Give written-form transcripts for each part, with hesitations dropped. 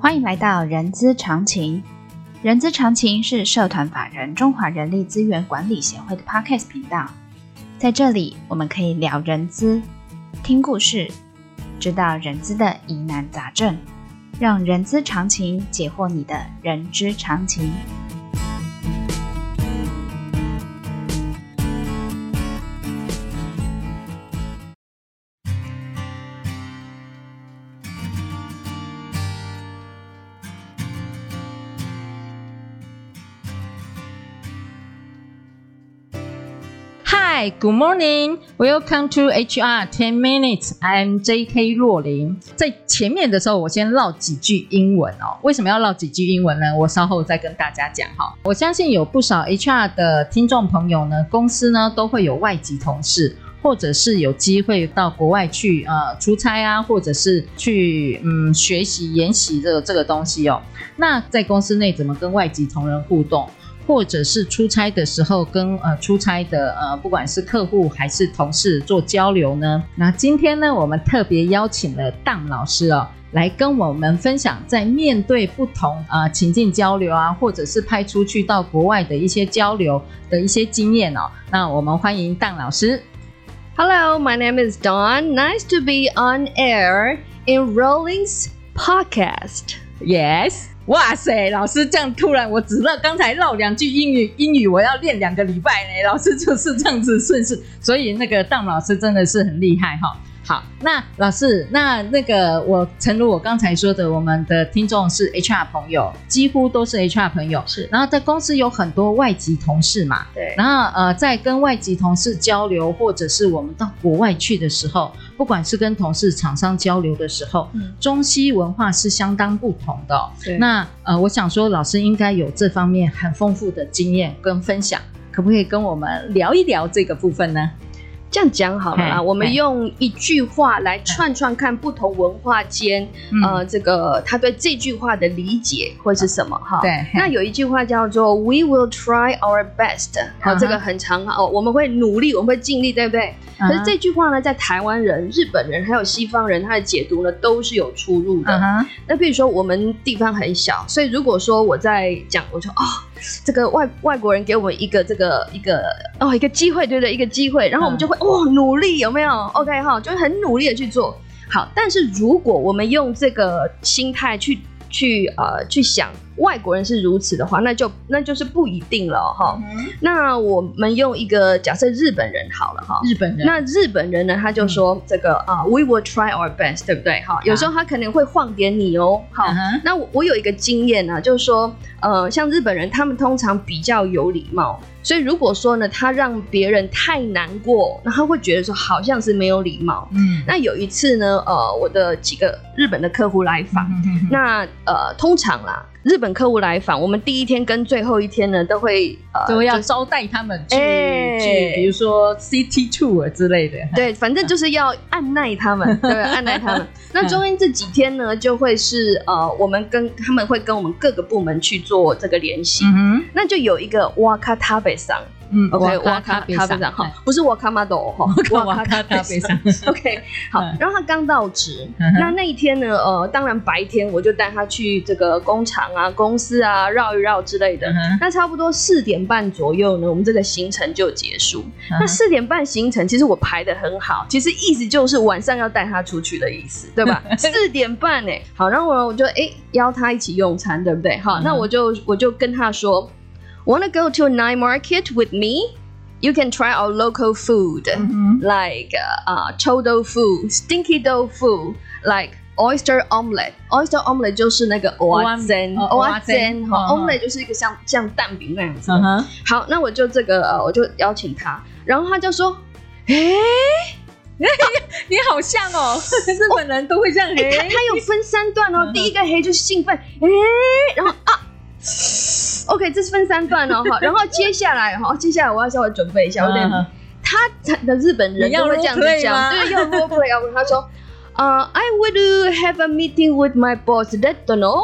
歡迎來到人資常情。人資常情是社團法人中華人力資源管理協會的 Podcast 頻道，在這裡我們可以聊人資，聽故事，知道人資的疑難雜症，讓人資常情解惑你的人之常情。 Hi, good morning. Welcome to HR 10 Minutes. I'm J.K. 若琳。在前面的時候，我先嘮幾句英文哦。為什麼要嘮幾句英文呢？我稍後再跟大家講哈。我相信有不少 HR 的聽眾朋友呢，公司呢都會有外籍同事，或者是有機會到國外去出差啊，或者是去學習研習這個東西哦。那在公司內怎麼跟外籍同仁互動？或者是出差的時候跟出差的不管是客戶還是同事做交流呢？那今天呢，我們特別邀請了當老師哦，來跟我們分享在面對不同情境交流啊，或者是派出去到國外的一些交流的一些經驗哦。那我們歡迎當老師。 Hello, my name is Dawn. Nice to be on air in Rolling's podcast. Yes.哇塞，老師這樣突然，我只剛才嘮兩句英語我要練2個禮拜呢。老師就是這樣子順勢，所以那個當老師真的是很厲害哈。好，那老師，那個誠如我剛才說的，我們的聽眾是 HR 朋友，幾乎都是 HR 朋友，是。然後在公司有很多外籍同事嘛，對。然後在跟外籍同事交流，或者是我們到國外去的時候，不管是跟同事、廠商交流的時候，中西文化是相當不同的哦。對。那我想說，老師應該有這方面很豐富的經驗跟分享，可不可以跟我們聊一聊這個部分呢？ 這樣講好了啦，我們用一句話來串看不同文化間，這個他對這句話的理解會是什麼哈？對，那有一句話叫做 "We will try our best"， 好，這個很長哦，我們會努力，我們會盡力，對不對？可是這句話呢，在台灣人、日本人還有西方人，他的解讀呢都是有出入的。那比如說我們地方很小，所以如果說我在講，我說這個外國人給我們一個機會，對不對？一個機會，然後我們就會努力，有沒有 ？OK 哈，就會很努力的去做好。但是如果我們用這個心態去想外國人是如此的話，那就是不一定了哈。那我們用一個假設日本人好了哈，那日本人呢，他就說这個we will try our best， 对不对？哈，有时候他可能會晃點你哦。好，那我有一個經驗呢，就是說像日本人，他們通常比較有禮貌。所以如果說呢，他讓別人太難過，那他會覺得說好像是沒有禮貌。那有一次呢，我的幾個日本的客戶來訪，那通常啦，日本客戶來訪，我們第一天跟最後一天呢，都會要招待他們去，比如說 City Tour 之類的。 對，反正就是要按捺他們，對，按捺他们。那中間這幾天呢，就會是我們他們會跟我們各個部門去做這個聯繫。那就有一個哇卡塔貝桑。OK， 瓦卡塔貝桑哈，不是瓦卡馬斗哈，瓦卡塔貝桑。OK， 好，然後他剛到職，那一天呢，當然白天我就帶他去這個工廠啊、公司啊繞一繞之類的。那差不多4點半左右呢，我們這個行程就結束。那4點半行程其實我排得很好，其實意思就是晚上要帶他出去的意思，對吧？4點半欸，好，然後我就邀他一起用餐，對不對？好，那我就跟他說。Wanna go to a night market with me? You can try our local food, like 臭豆腐、stinky 豆腐 like oyster omelet. Oyster omelet 就是那個蚵仔煎，omelet 就是一個像蛋餅那樣子。好，那我就我就邀請他，然後他就說， 你好像哦，日本人都會這樣。 他有分3段哦，第一個就是興奮，然後OK， 這是分3段哦，好，然後接下來我要稍微準備一下，有點他的日本人都會這樣子講，對，要 role play，他說，I would have a meeting with my boss, that don't know,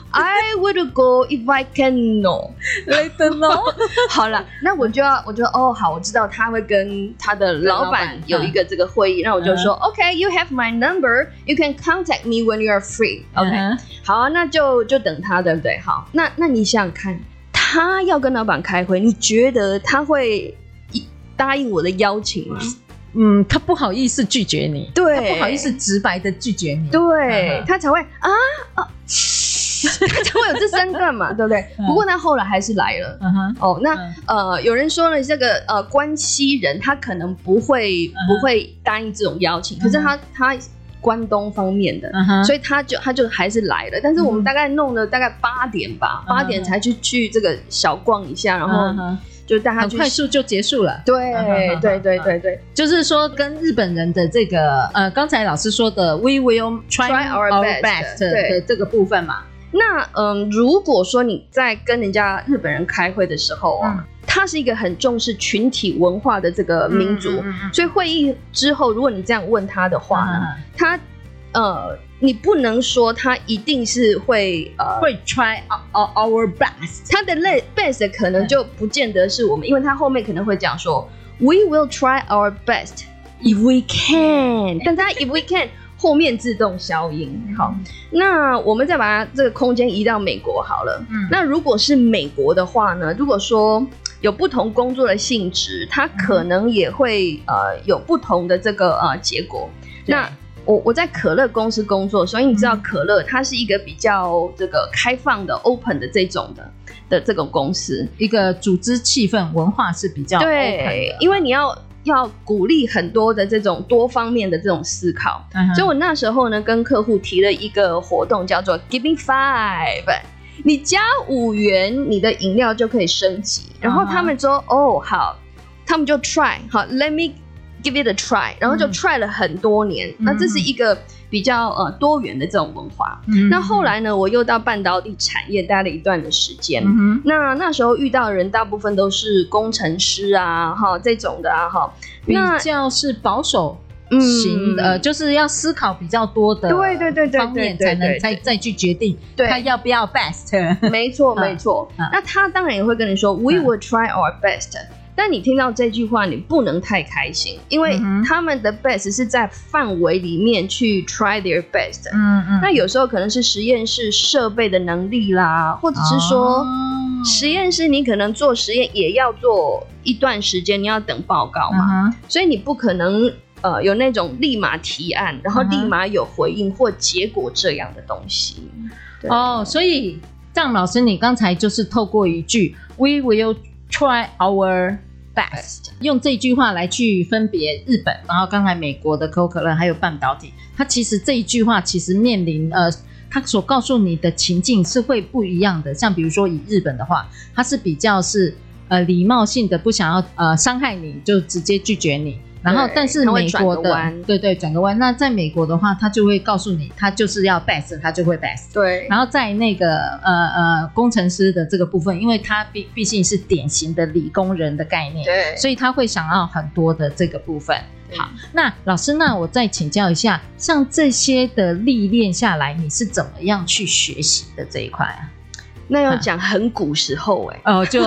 I would go if I can know. Let them know. 好了，那我就哦，好，我知道他会跟他的老闆有一個這個會議，那我就說 OK, you have my number, you can contact me when you are free. OK, 好啊，那就等他，對不對？好，那你想想看，他要跟老闆開會，你覺得他會答應我的邀請嗎？ 他不好意思拒絕你， 對， 他不好意思直白的拒絕你， 對，他才會他才會有這三段嘛，對不對？不過他後來還是來了。那有人說呢，這個關西人他可能不會答應這種邀請，可是他關東方面的，所以他就還是來了。但是我們大概弄了大概8點吧，8點才去這個小逛一下，然後就帶他去， 很快速就結束了。 對， 就是說跟日本人的這個剛才老師說的 We will try our best 的這個部分嘛。 那如果說你在跟人家日本人開會的時候他是一個很重視群體文化的這個民族，所以會議之後，如果你這樣問他的話呢，他你不能說他一定是會 try our best， 他的 best 可能就不見得是我們，因為他後面可能會講說 We will try our best if we can， 但他 if we can 後面自動消音。好，那我們再把它這個空間移到美國好了。那如果是美國的話呢，如果說有不同工作的性質，它可能也會有不同的這個結果。那我在可樂公司工作，所以你知道可樂它是一個比較這個開放的 open 的這種的這種公司， 一個組織氣氛文化是比較 open 的。 對，因為你要鼓勵很多的這種多方面的這種思考，所以我那時候呢跟客戶提了一個活動叫做 Giving 5， 你加5元你的飲料就可以升級，然後他們說哦好，他們就 try 好 Let me give it a try， 然後就 try 了很多年，那這是一個比較多元的這種文化。那後來呢，我又到半導體產業待了一段的時間，那時候遇到的人大部分都是工程師啊，這種的啊， 比較是保守型的，就是要思考比較多的方面才能再去決定他要不要 best。 沒錯。那他當然也會跟你說 We will try our best。但你聽到這句話，你不能太開心，因為他們的 best 是在範圍裡面去 try their best。那有時候可能是實驗室設備的能力啦，或者是說實驗室你可能做實驗也要做一段時間，你要等報告嘛，所以你不可能有那種立馬提案，然後立馬有回應或結果這樣的東西。 所以張老師，你剛才就是透過一句 We will try our best， 用這句話來去分別日本，然後剛才美國的可口可樂還有半導體，它其實這一句話其實面臨它所告訴你的情境是會不一樣的。像比如說以日本的話，它是比較是禮貌性的，不想要傷害你就直接拒絕你。然後但是美國的轉個彎，那在美國的話，他就會告訴你他就是要 best， 他就會 best。對，然後在那個工程師的這個部分，因為他畢竟是典型的理工人的概念，對，所以他會想要很多的這個部分。好，那老師，那我再請教一下，像這些的歷練下來，你是怎麼樣去學習的這一塊啊？ 那要講很古時候就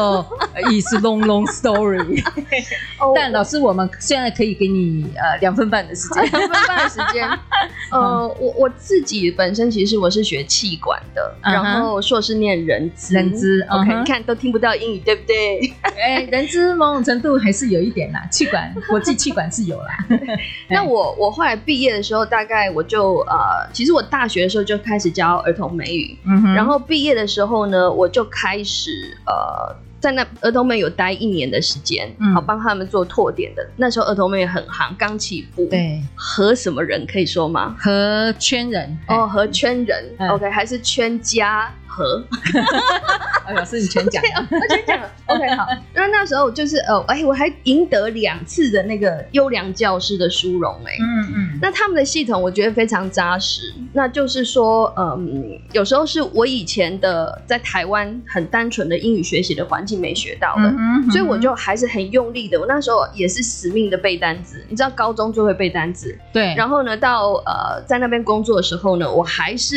is long story。但老師，我們現在可以給你2分半的時間。2分半的時間。 我自己本身其實我是學企管的，然後碩士念人資。OK， 你看都聽不到英語，對不對？ 人資某種程度還是有一點啦，企管國際企管是有啦。 那我後來畢業的時候，大概我就其實我大學的時候就開始教兒童美語，然後畢業的時候呢，我就開始在那兒童美有待1年的時間，好幫他們做拓點的。那时候兒童美很行，剛起步。对，和什麼人可以說嗎？ 和圈人和圈人。OK， 還是圈家和？ 老師你全講了， 我全講了。OK， 好。那時候就是我還贏得2次的那個優良教師的殊榮那他們的系統我覺得非常扎實。那就是說，有時候是我以前的在台灣很單純的英語學習的環境沒學到的，所以我就還是很用力的。我那時候也是死命的背單字，你知道高中就會背單字，對。然後呢，到在那邊工作的時候呢，我還是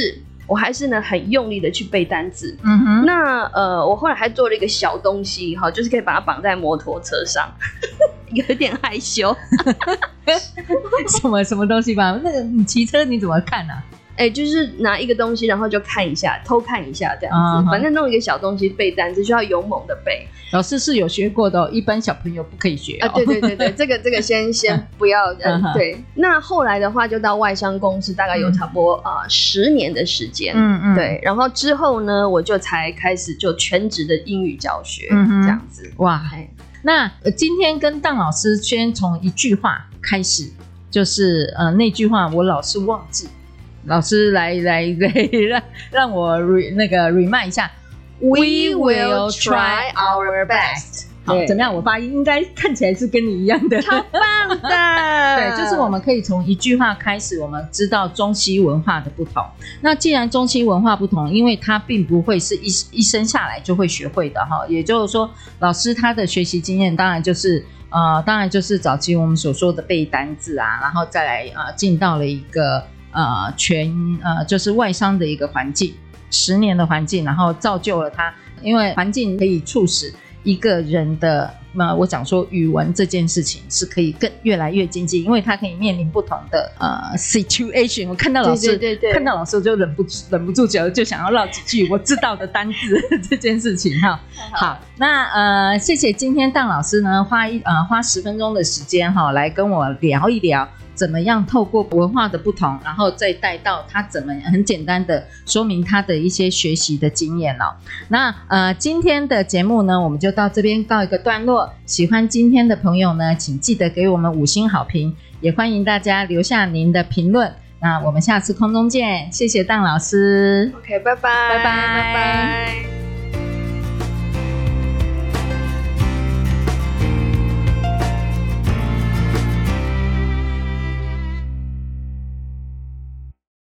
我還是呢很用力的去背單字。那我後來還做了一個小東西哈，就是可以把它綁在摩托車上，有點害羞。 什麼東西吧？那個你騎車你怎麼看啊？ 就是拿一個東西，然後就看一下，偷看一下這樣子。反正弄一個小東西背單詞，需要勇猛的背。 老師是有學過的哦，一般小朋友不可以學哦。 對，这個先不要。對。那後來的話，就到外商公司，大概有差不多10年的時間。對。然後之後呢，我就才開始就全職的英語教學，這樣子。 哇，那今天跟當老師先從一句話開始，就是那句話我老是忘記。老師來讓我remind 一下 ，We will try our best。好，怎麼樣？我發音應該看起來是跟你一樣的， 超棒的。 對，就是我們可以從一句話開始，我們知道中西文化的不同。那既然中西文化不同，因為它並不會是一生下來就會學會的哈。也就是說，老師他的學習經驗當然就是早期我們所說的背單字啊，然後再來進到了一個。就是外商的一個環境，10年的環境，然後造就了他，因為環境可以促使一個人的，我講說語文這件事情是可以越來越精進，因為他可以面臨不同的situation。我看到老師，對，看到老師我就忍不住就想要嘮幾句我知道的單字這件事情哈。好，那謝謝今天當老師呢花10分鐘的時間哈，來跟我聊一聊。怎麼樣透過文化的不同，然後再帶到他怎麼很簡單的說明他的一些學習的經驗哦。那今天的節目呢，我們就到這邊告一個段落。喜歡今天的朋友呢，請記得給我們5星好評，也歡迎大家留下您的評論。那我們下次空中見，謝謝當老師。 OK， 拜拜， 拜拜。